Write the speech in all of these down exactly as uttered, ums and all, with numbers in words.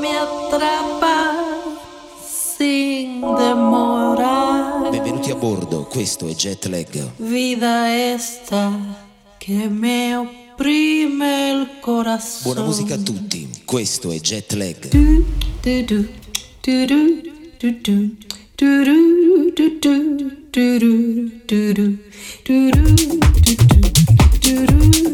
me atrapa sin demorar. Benvenuti a bordo, questo è Jet Lag. Vida esta che me opprime il corazón. Buona musica a tutti, questo è Jet Lag. Du, du, du, du, du, du, du. Du du du du du du du du du du du du.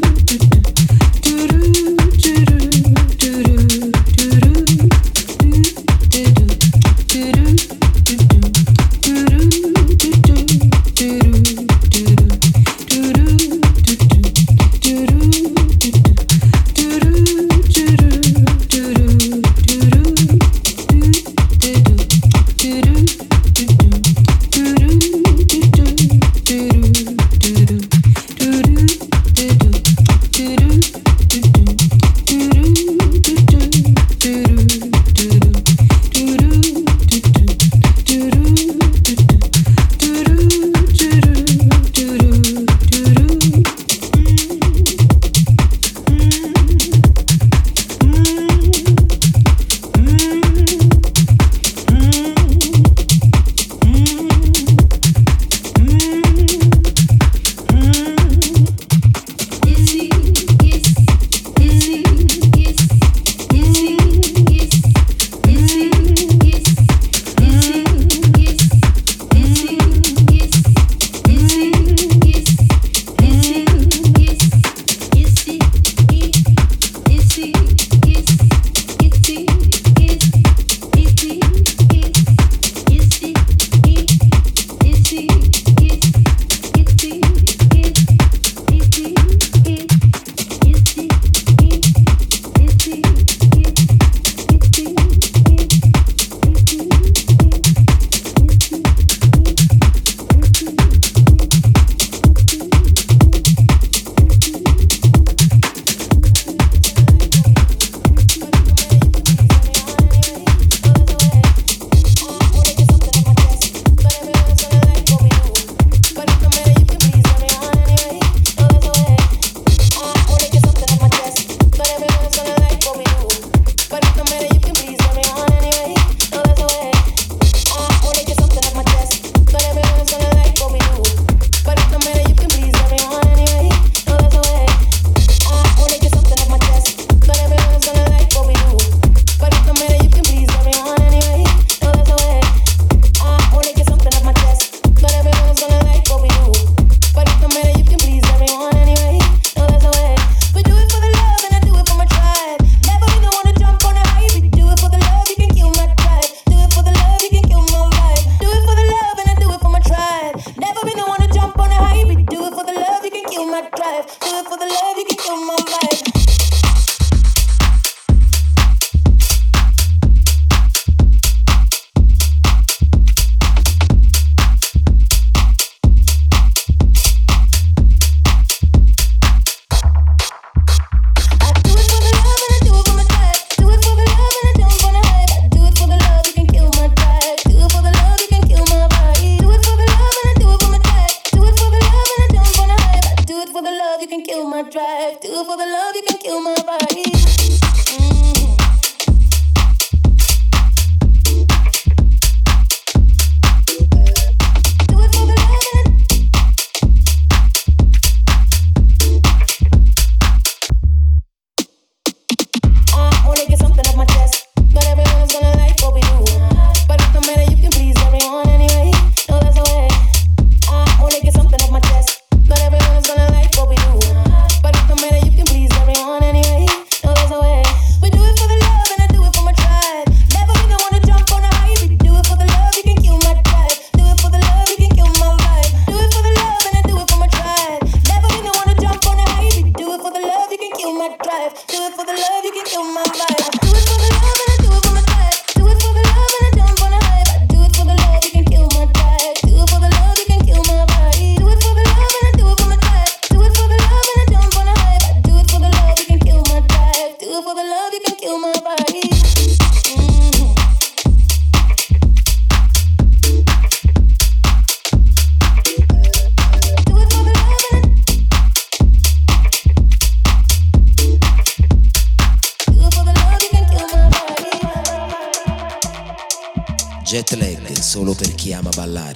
jet lag solo per chi ama ballare.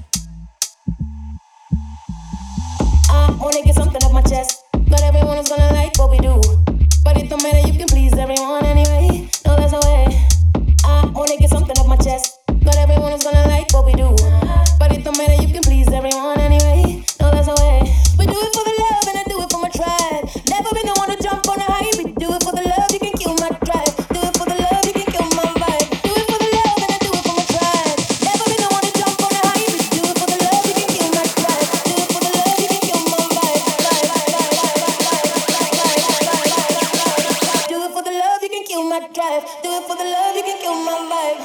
I wanna get something off my chest. Not everyone is gonna like what we do, but it don't matter, you can please everyone anyway. No, there's no way. I wanna get something off my chest. Not everyone is gonna like what we do, but it don't matter, you can please everyone anyway. No, there's no way. We do it for the love and I do it for my tribe. Never been the one to jump on a hype. We do it for the love, you can kill my drive. Do it for the love, you can kill my vibe. Do it for the love and I do it for my tribe. Never been the one to jump on a hype. We do it for the love, you can kill my drive. Do it for the love, you can kill my vibe. Do it for the love, you can kill my drive. Do it for the love, you can kill my vibe.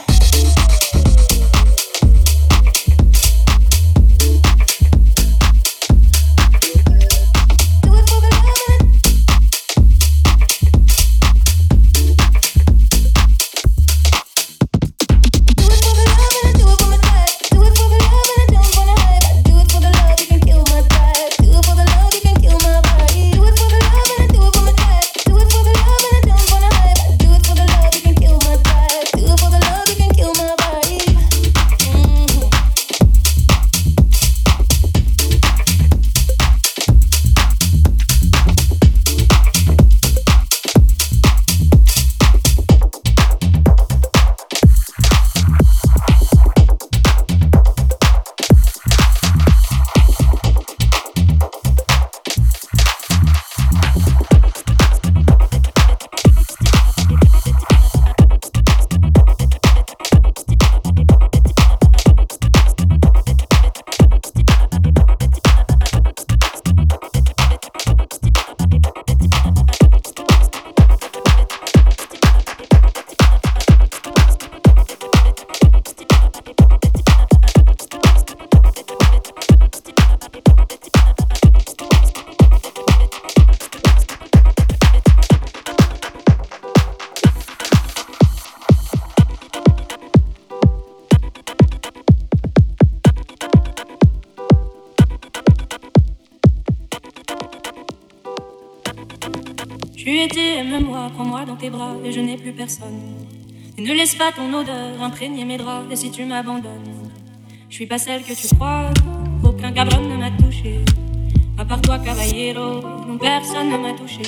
Tu étais, aime-moi, prends-moi dans tes bras et je n'ai plus personne. Et ne laisse pas ton odeur imprégner mes draps. Et si tu m'abandonnes, je suis pas celle que tu crois. Aucun cabron ne m'a touché. À part toi, caballero, non, personne ne m'a touché.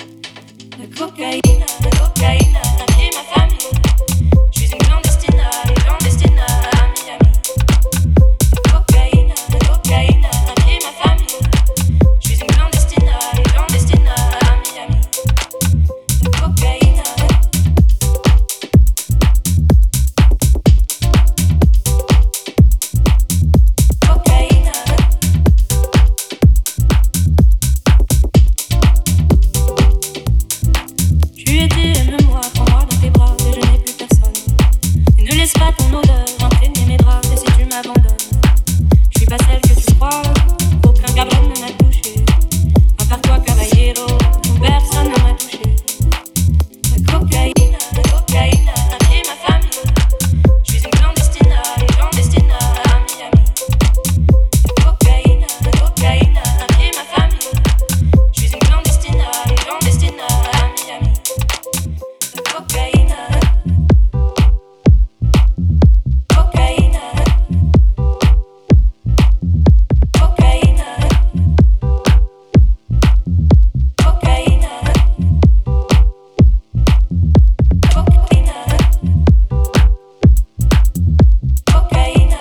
La cocaïne, la cocaïne, a pris ma famille. Je suis une clandestine, une clandestine à Miami. La cocaïne, la cocaïne, a pris ma famille. Je suis une clandestine, une clandestine à Miami. La cocaïne. Cocaïne. Tu étais, aime-moi, prends-moi dans tes bras et je n'ai plus personne. Et ne laisse pas ton odeur imprégner mes draps. Et si tu m'abandonnes, je suis pas celle que tu crois. Aucun cabron ne m'a touché. À part toi, caballero, personne ne m'a touché. La cocaïne, la cocaïne a pris ma famille. Je suis une clandestine, une clandestine à Miami. La cocaïne, la cocaïne a pris ma famille. Je suis une clandestine, une clandestine à Miami. La cocaïne, cocaïne, cocaïne, cocaïne, cocaïne,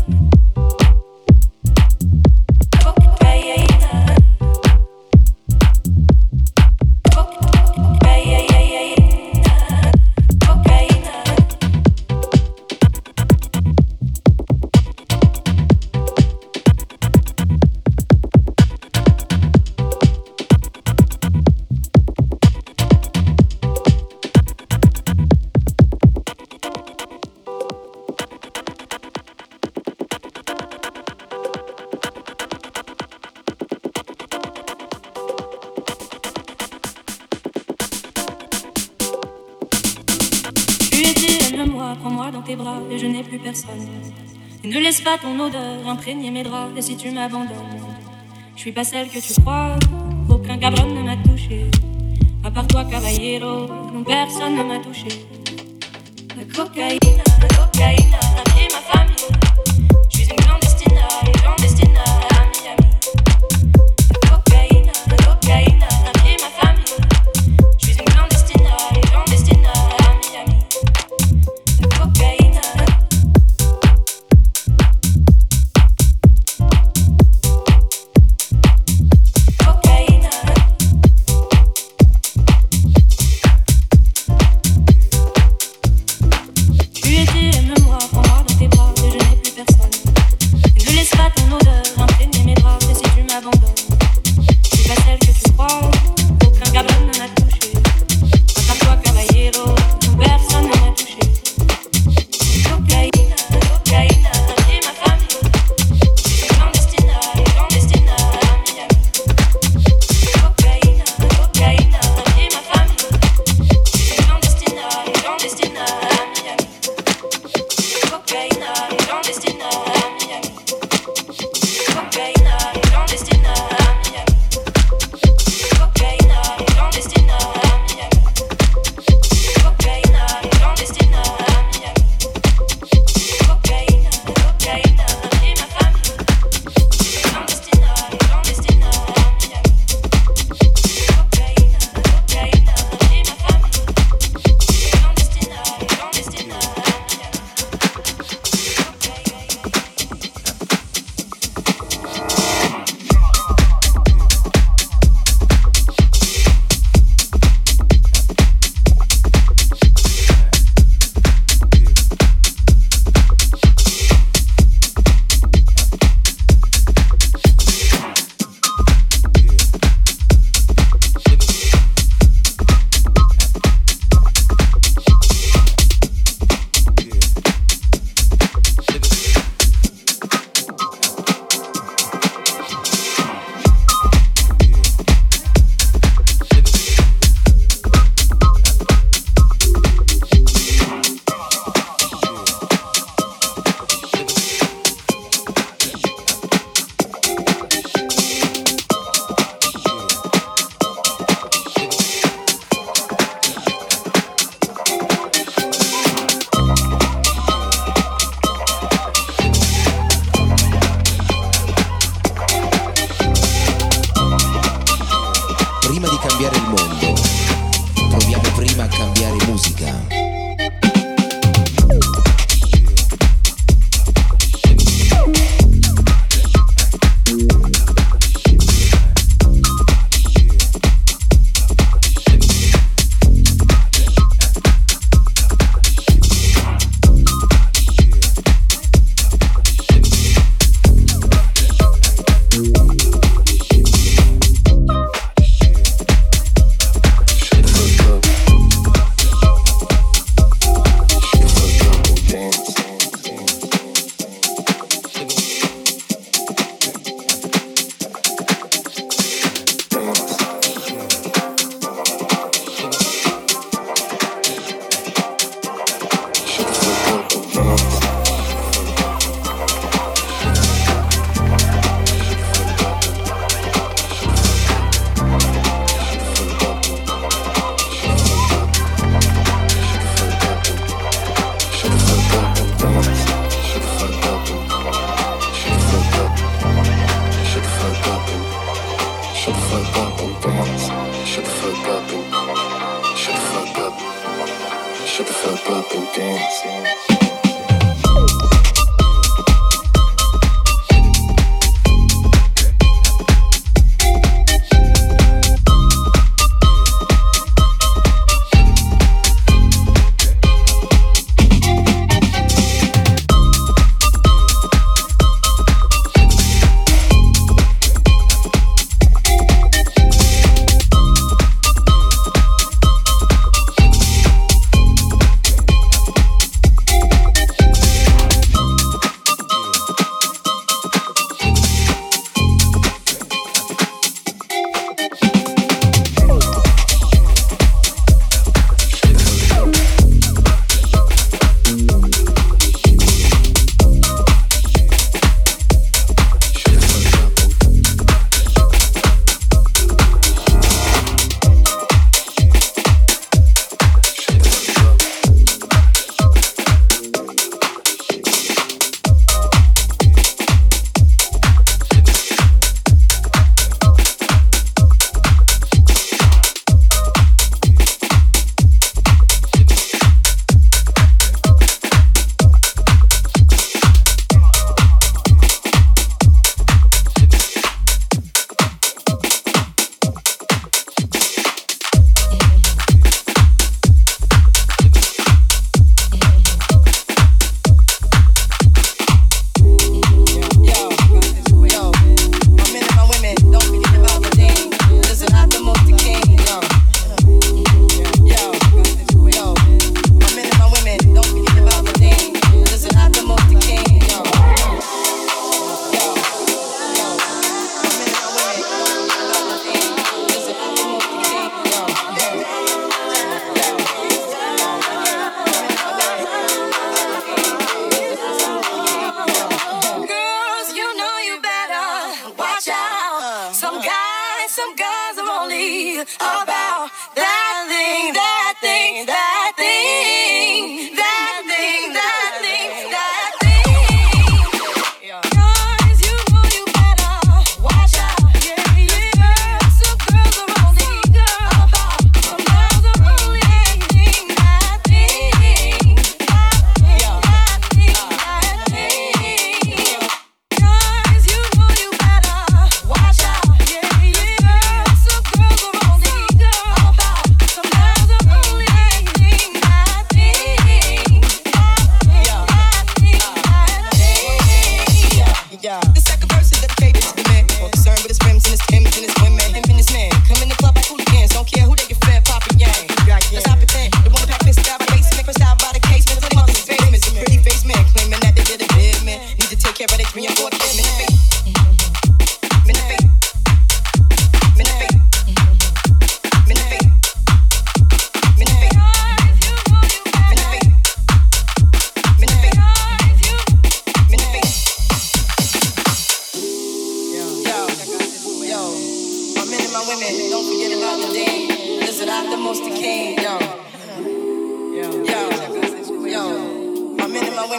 Tu étais, aime-moi, prends-moi dans tes bras et je n'ai plus personne. Et ne laisse pas ton odeur imprégner mes draps. Et si tu m'abandonnes, je suis pas celle que tu crois. Aucun cabron ne m'a touché. À part toi, caballero, non, personne ne m'a touché. La cocaïne, la cocaïne.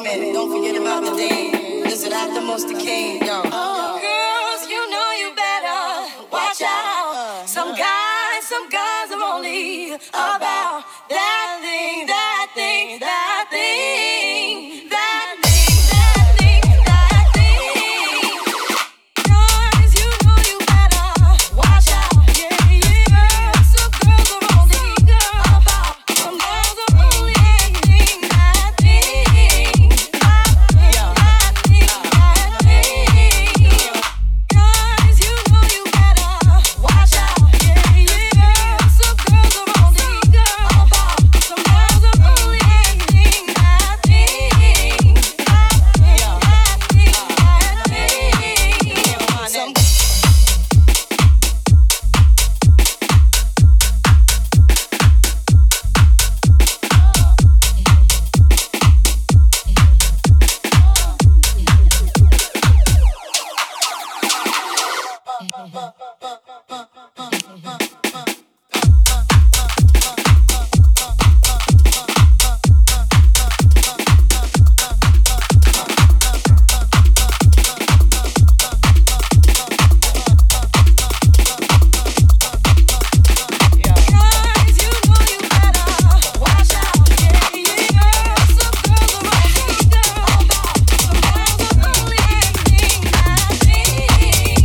Freeman. Don't forget about the Dean. Listen, aftermost the king. Yo. Oh, girls, you know you better watch out. Some guys, some guys are only about that thing, that thing, that thing, that thing, that thing, that thing. Guys, you know you better watch out. Yeah, yeah. Some girls are only about, some girls are only that thing, that thing, that thing, that thing, that thing. Guys, you know you better watch out. Yeah, yeah. Some girls are only about, some girls are only that thing, that thing, that thing, that thing, that thing. Some guys, you know you better watch out. Yeah, yeah. Some girls are only about, some girls are only that thing, that thing,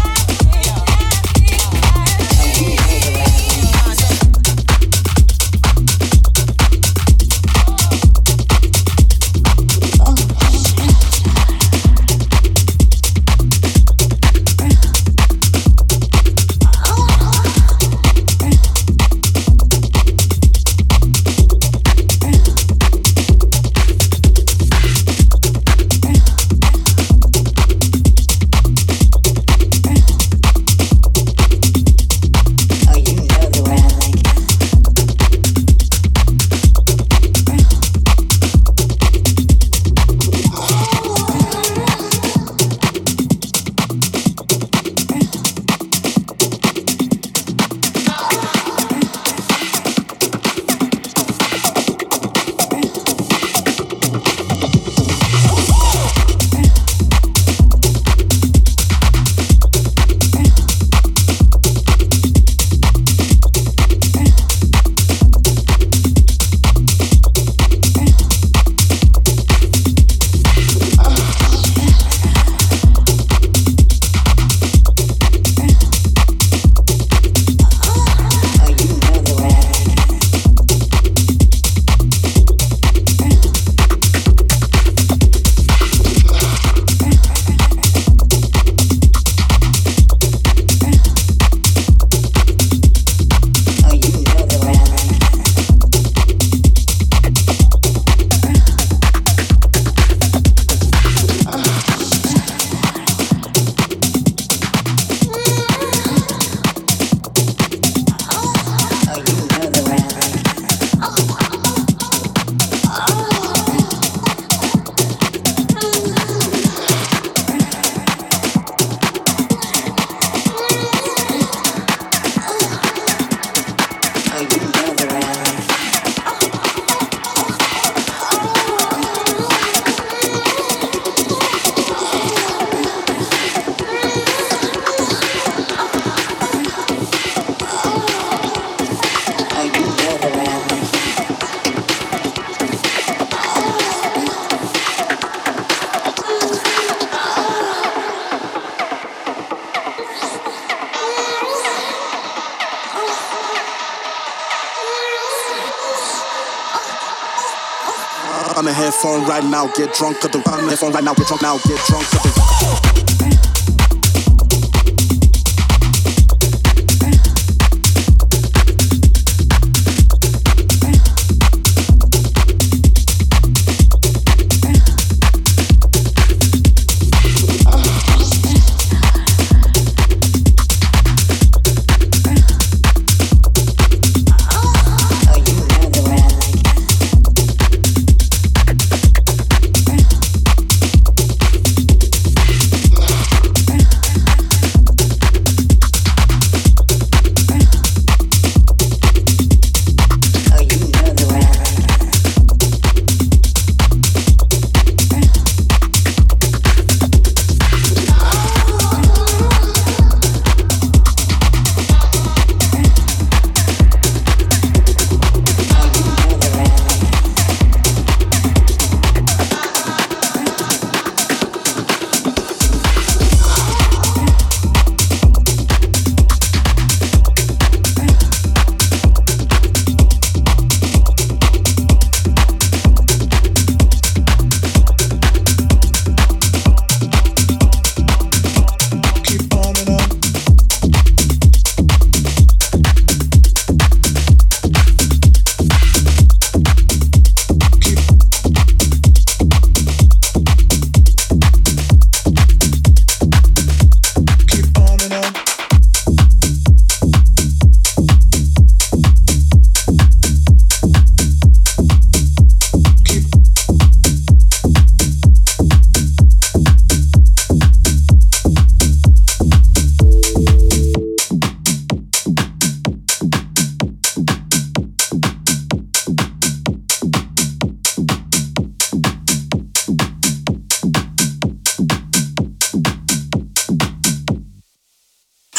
On the headphone right now, get drunk at the on the headphone right now, get drunk now, get drunk at the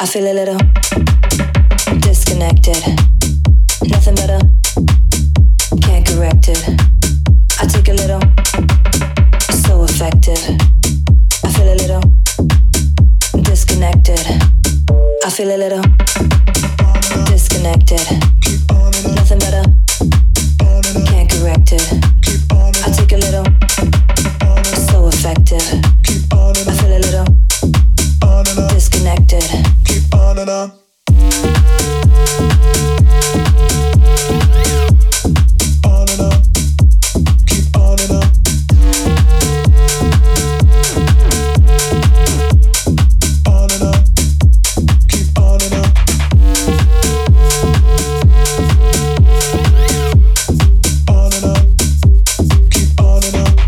feel a little disconnected. Nothing better, can't correct it. I take a little, so effective. I feel a little disconnected. I feel a little disconnected. Nothing better, can't correct it. I take a little, so effective. I feel a little disconnected. Keep on and on. On and on. Keep on and on. On and on. Keep on and on. On and on. Keep on and on.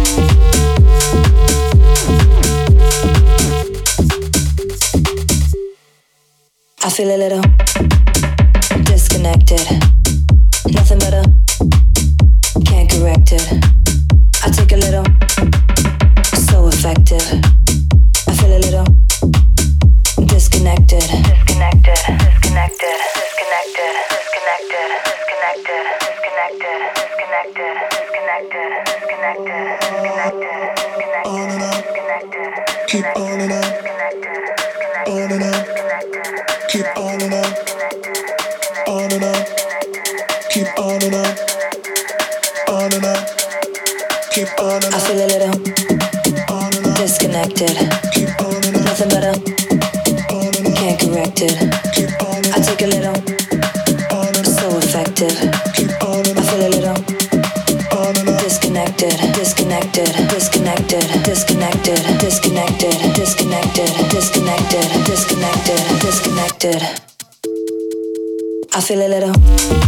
I feel a little disconnected. Nothing better, can't correct it. I take a little, so effective. I feel a little disconnected. Disconnected, disconnected, disconnected, disconnected, disconnected, disconnected, disconnected, disconnected, disconnected, disconnected, disconnected, disconnected. Keep on and on. On and on. Keep on and on. On and on. Keep on and on. On and on. Keep on and on. I feel a little disconnected. Keep on and on. Nothing better, On and on. can't correct it. Keep on and I take a little, on and so effective. keep on and I feel a little on and on. disconnected, disconnected, disconnected, disconnected, disconnected, disconnected, disconnected, disconnected, disconnected. I feel a little.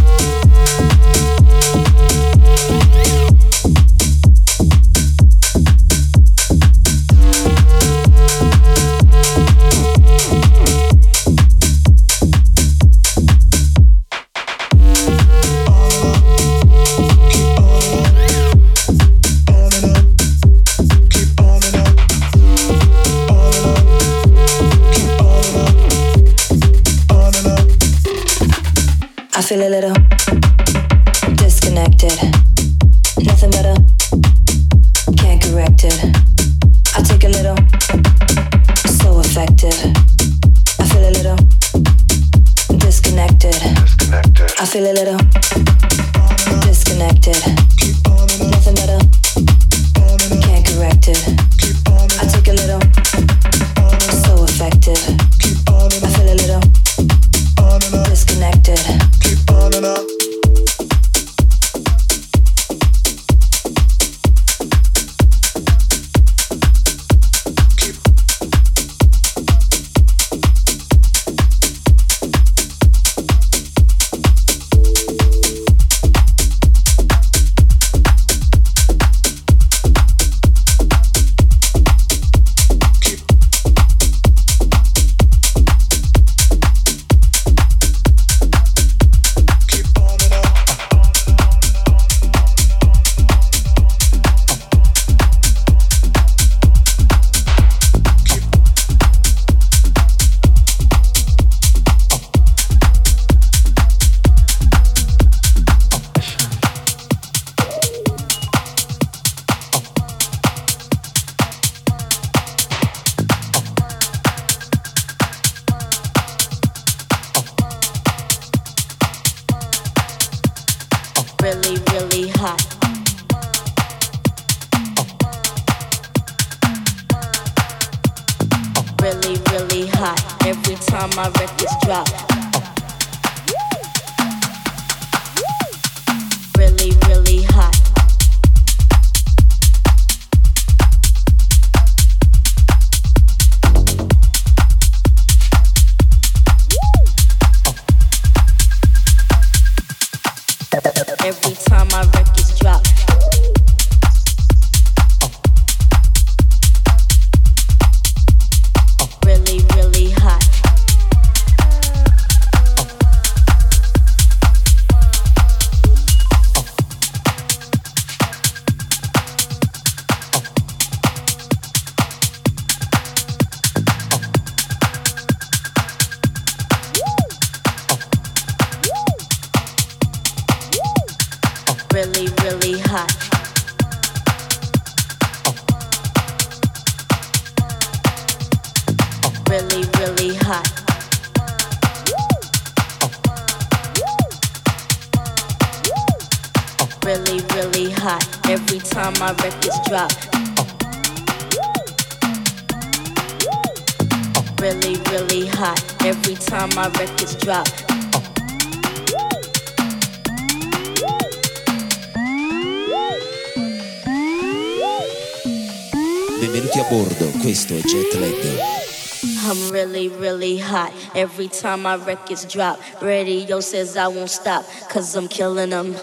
I feel a little disconnected. Nothing better, can't correct it. I take a little, so effective. I feel a little disconnected. I feel a little disconnected. Nothing better, can't correct it. I take a little, so effective. I feel a little disconnected. Keep on and on. Really, really hot. Really, really hot. Every time my records drop. Really, really hot. Every time my records drop. Really, really hot. hot. Really, really hot. Really, really hot. Every time my records drop. Really, really hot. Every time my records drop. Benvenuti a bordo, questo è Jet Lag. I'm really, really hot. Every time my records drop. Radio says I won't stop, cause I'm killing them.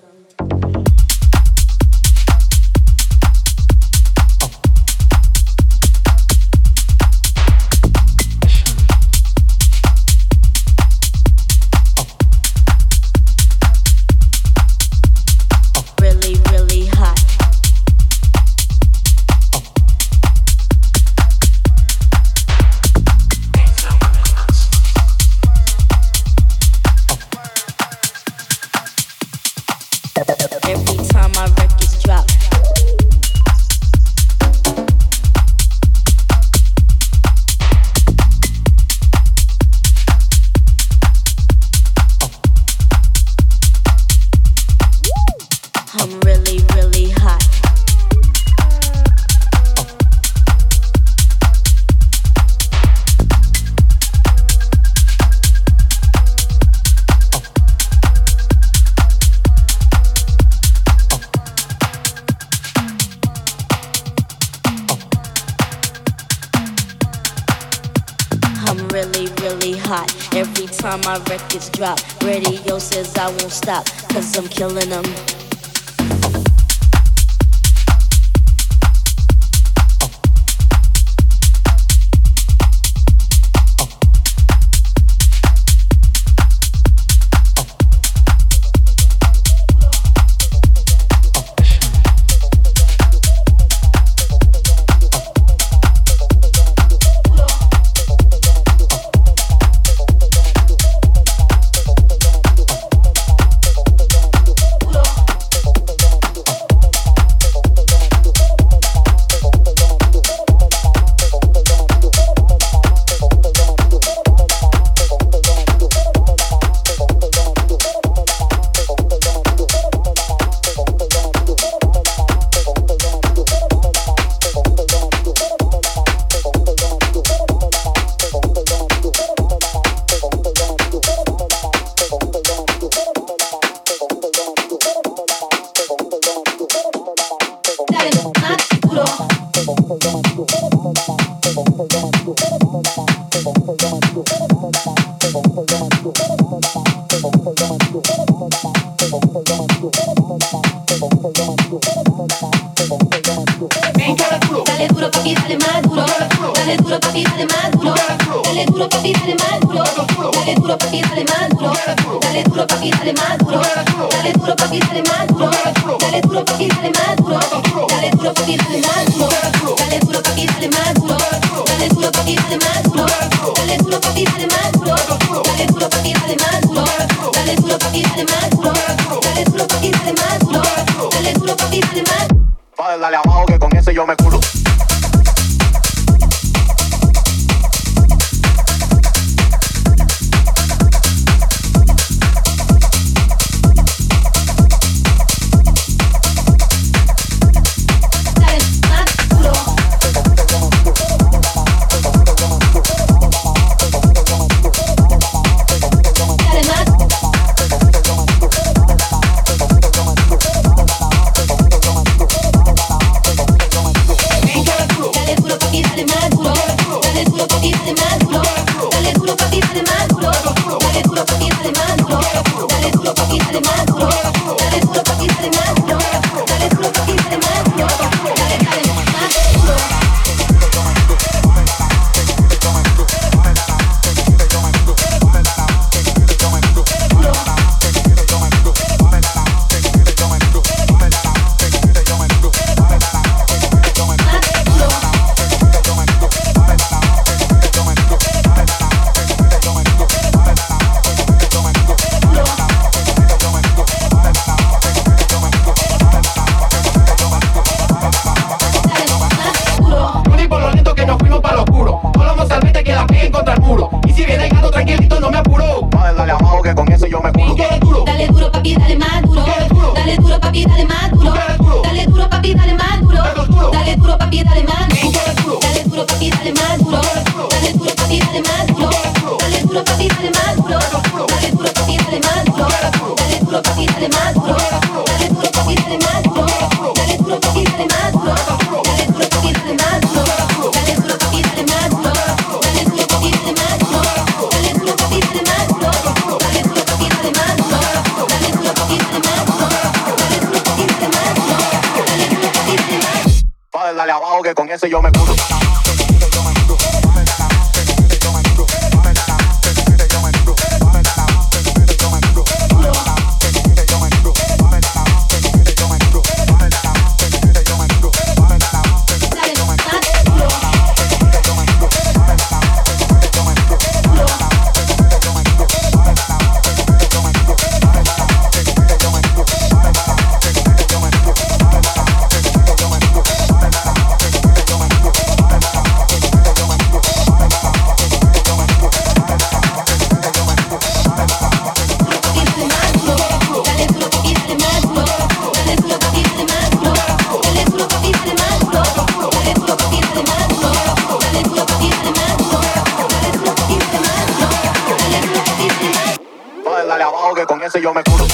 My records drop. Radio says I won't stop, cause I'm killing them. Dale abajo que con ese yo me culo. Hey! papi, dale más duro. Dale duro, papi, dale más duro. Dale duro, papi, dale más duro. Dale duro, papi, dale más duro. Dale duro, papi, dale más duro. Dale duro, papi, dale más duro. Dale duro, papi, dale más duro. Dale duro, papi, dale más duro. Dale duro, papi, dale más duro. Dale duro, papi, dale más duro. Dale duro, papi, dale más duro. Dale duro, papi, dale más duro. Dale duro, papi, dale más duro. Dale duro, papi, dale más duro. Dale duro, papi, dale más duro. Dale duro, papi, dale más duro. Dale duro, papi, dale más duro. Dale duro, papi, dale más duro. Padre, dale abajo que con ese yo me curo. Dale abajo que con ese yo me curo.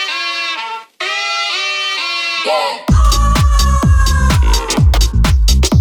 Yeah.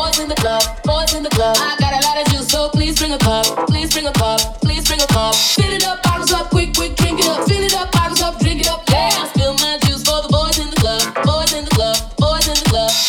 boys in the club, boys in the club. I got a lot of juice, so please bring a cup, please bring a cup, please bring a cup. Fill it up, bottles up, quick, quick, drink it up. Fill it up, bottles up, drink it up. Yeah, I spill my juice for the boys in the club, boys in the club, boys in the club.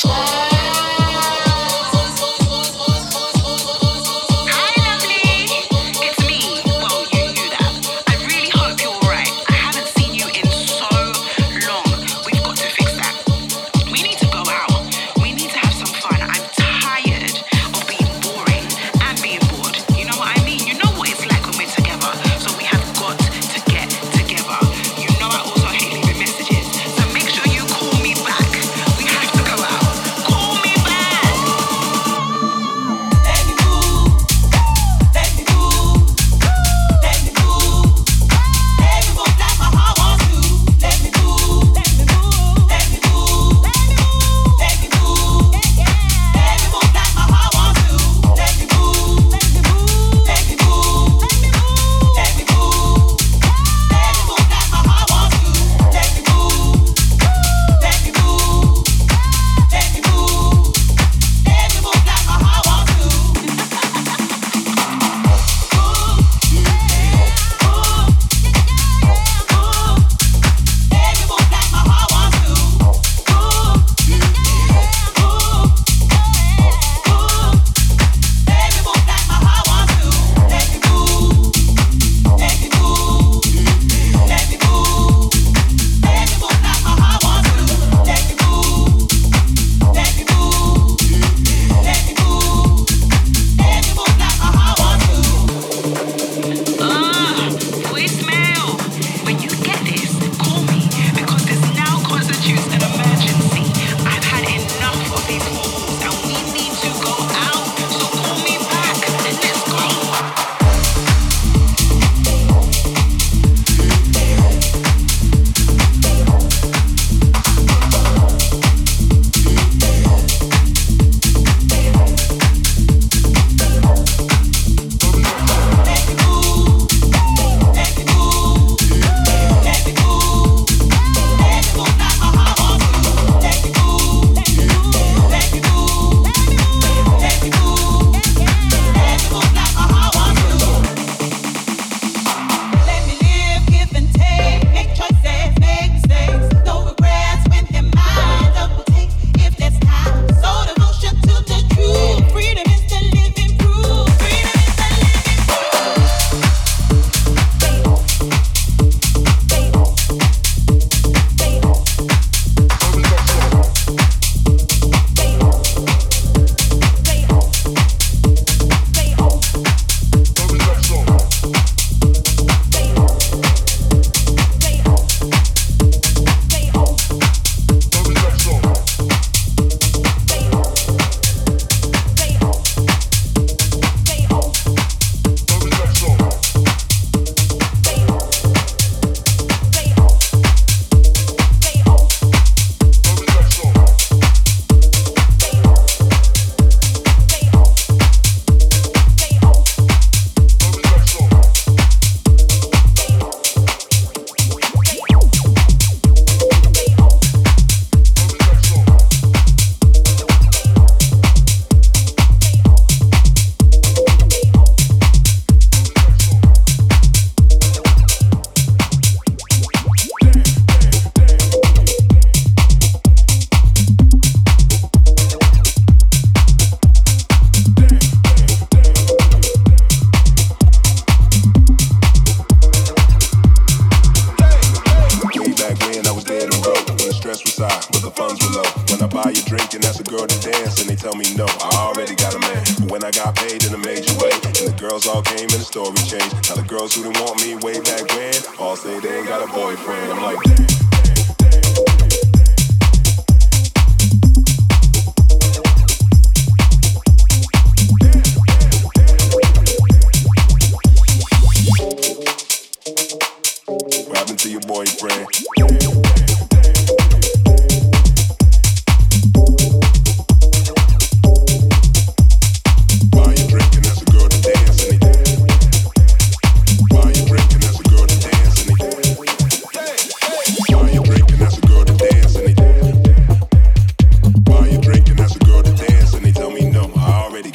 Why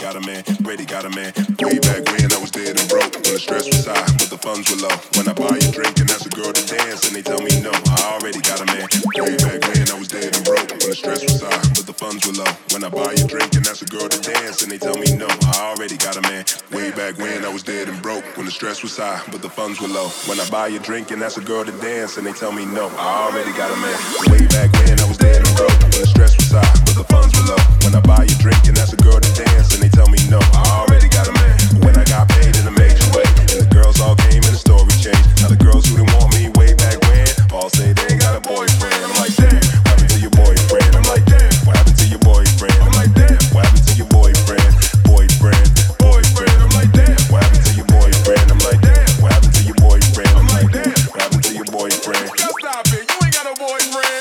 got a man, already got a man. Way back when I was dead and broke, when the stress was high, but the funds were low. When I buy you a drink and ask a girl to dance, and they tell me no, I already got a man. Way back when I was dead and broke, when the stress was high, but the funds were low. When I buy you a drink and ask a girl to dance, and they tell me no, I already got a man. Way back when I was dead and broke, when the stress was high, but the funds were low. When I buy you a drink and ask a girl to dance, and they tell me no, I already got a man. Way back when I was dead and broke, when the stress was high, but the funds were low. When I buy you a drink and ask a girl to dance, and they tell me no, I already got a man. When I got paid in a major way, and the girls all came and the story changed. Now the girls who didn't want me way back when, all say they ain't got a boyfriend. I'm like, damn, what happened to your boyfriend? I'm like, damn, what happened to your boyfriend? I'm like, damn, what happened to your boyfriend? Boyfriend, boyfriend. I'm like, damn, what happened to your boyfriend? I'm like, damn, what happened to your boyfriend? I'm like, damn, what happened to your boyfriend? Just stop it, you ain't got a boyfriend.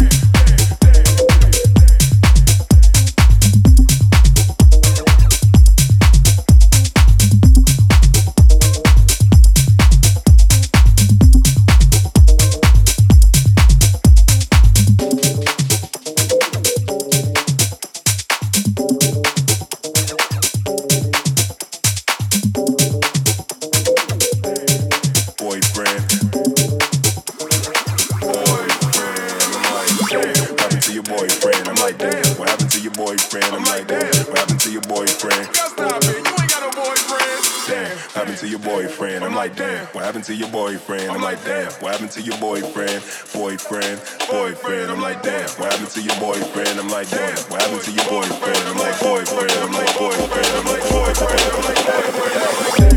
What happened to your boyfriend? I'm like, damn. What happened to your boyfriend? Boyfriend, boyfriend. I'm like, damn. What happened to your boyfriend? I'm like, damn. What happened to your boyfriend? I'm like, boyfriend. I'm like, boyfriend. I'm like, boyfriend. I'm like, boyfriend.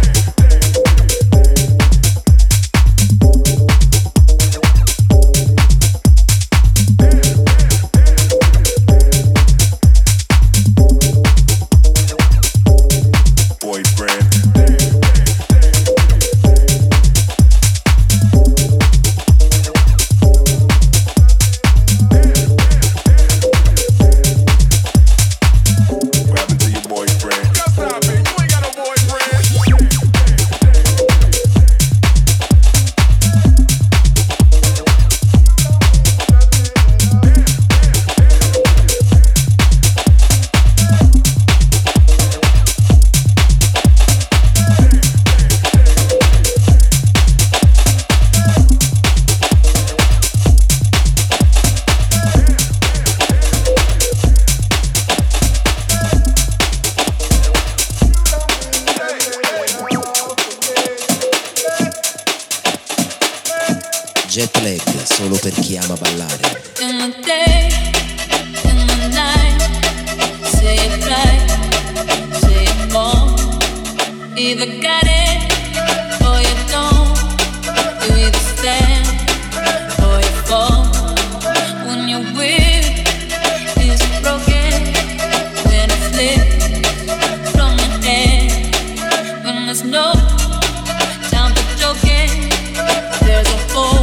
Jet lag solo per chi ama ballare. In the day, in the night, say it right, say it more. Either got it or you don't. You either stand or you fall. When you're weak, is it broken? When it slips from your hand, when there's no time for joking, there's a hole.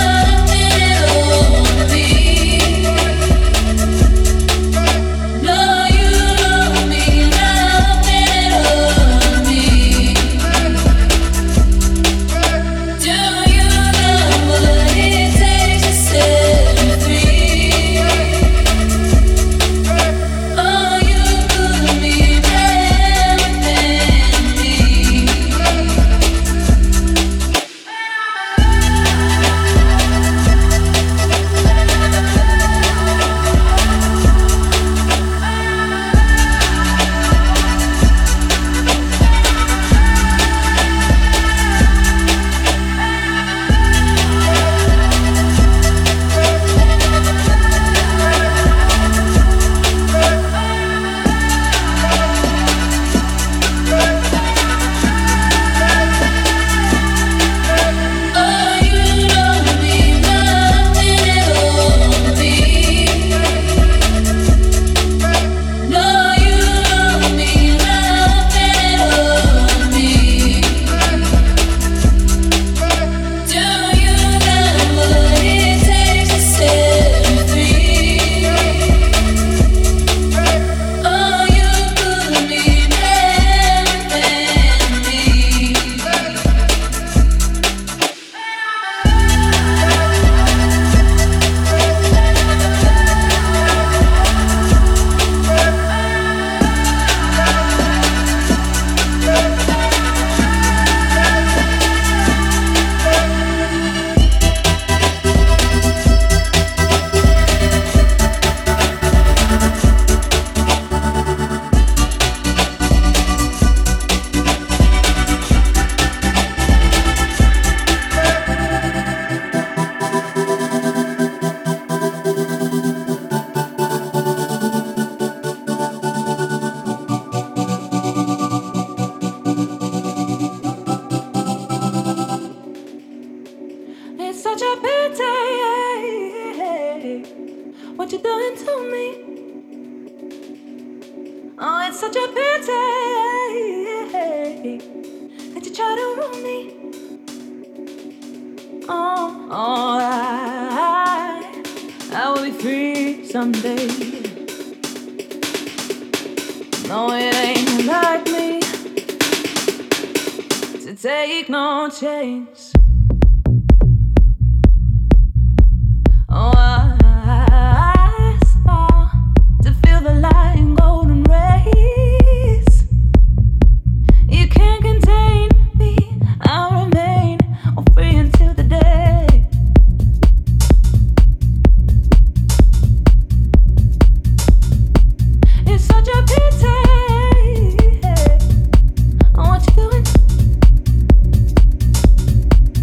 No what you doing to me? Oh, it's such a pity that you try to ruin me. Oh, oh, I, I will be free someday. No, it ain't like me to take no chance. Oh, I, I smile to feel the light and golden rays. You can't contain me, I'll remain oh, free until the day. It's such a pity. Oh, what you doing?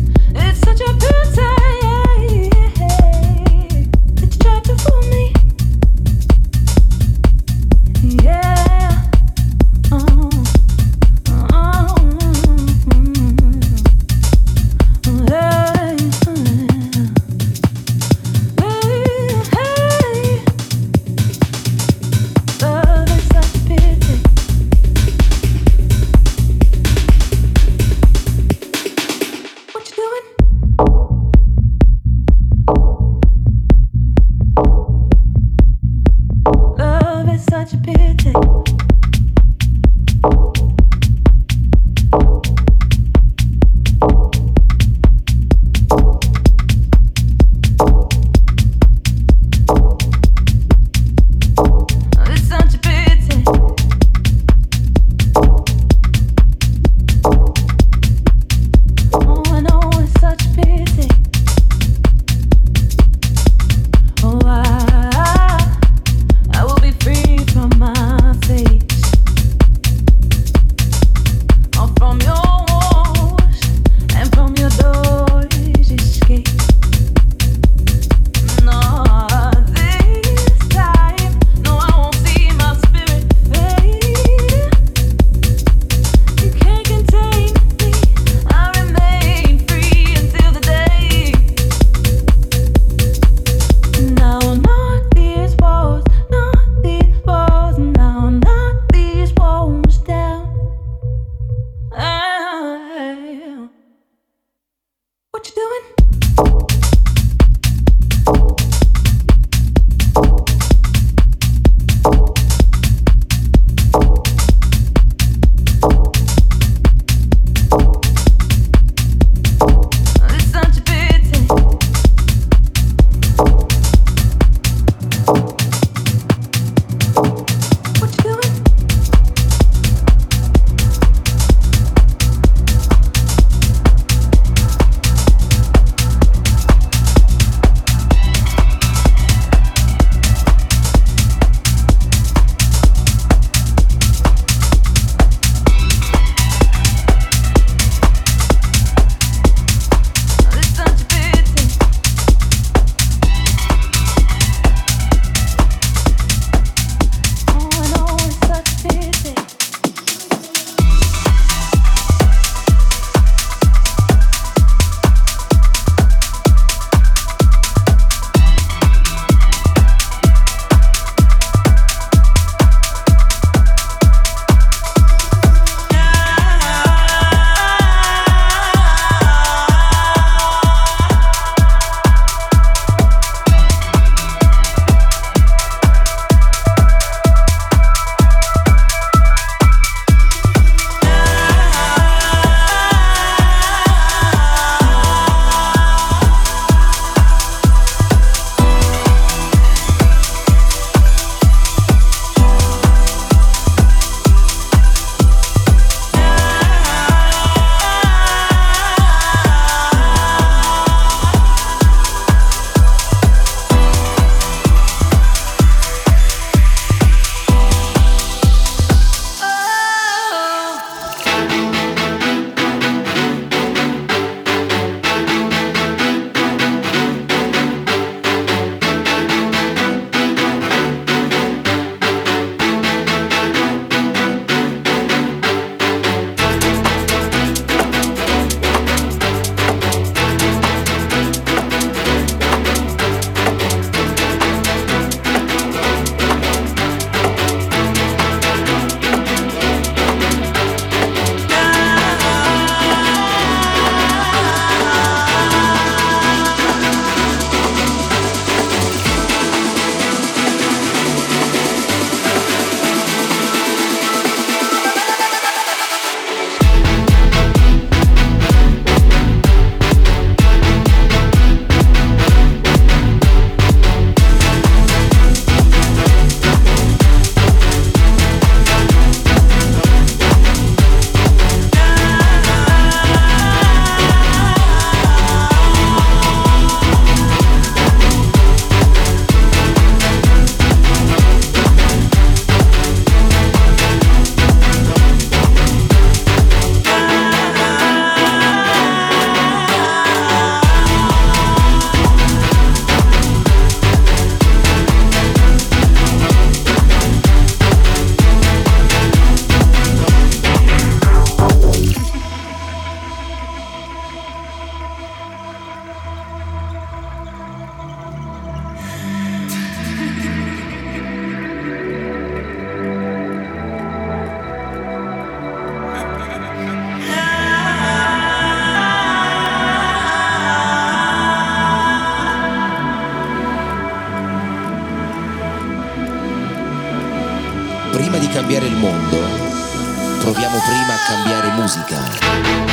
Prima di cambiare il mondo, proviamo prima a cambiare musica.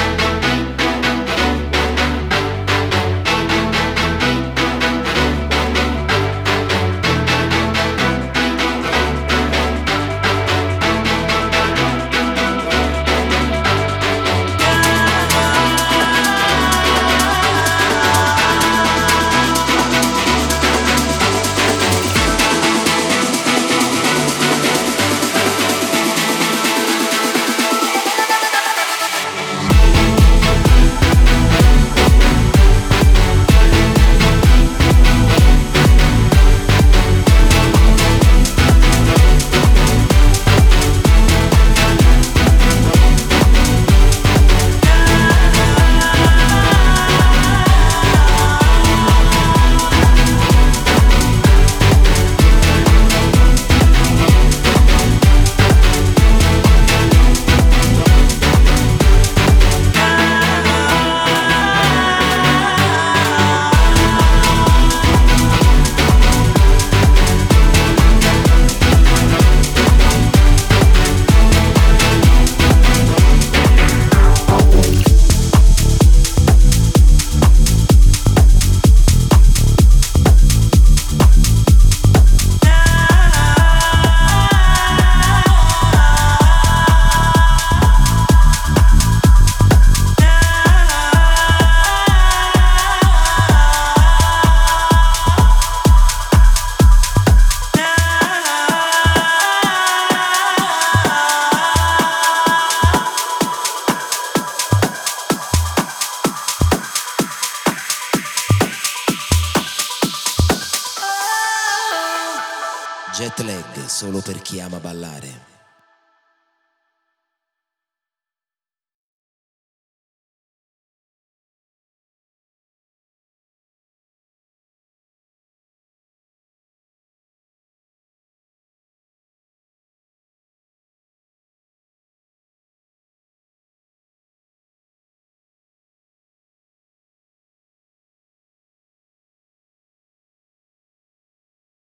Jet lag solo per chi ama ballare.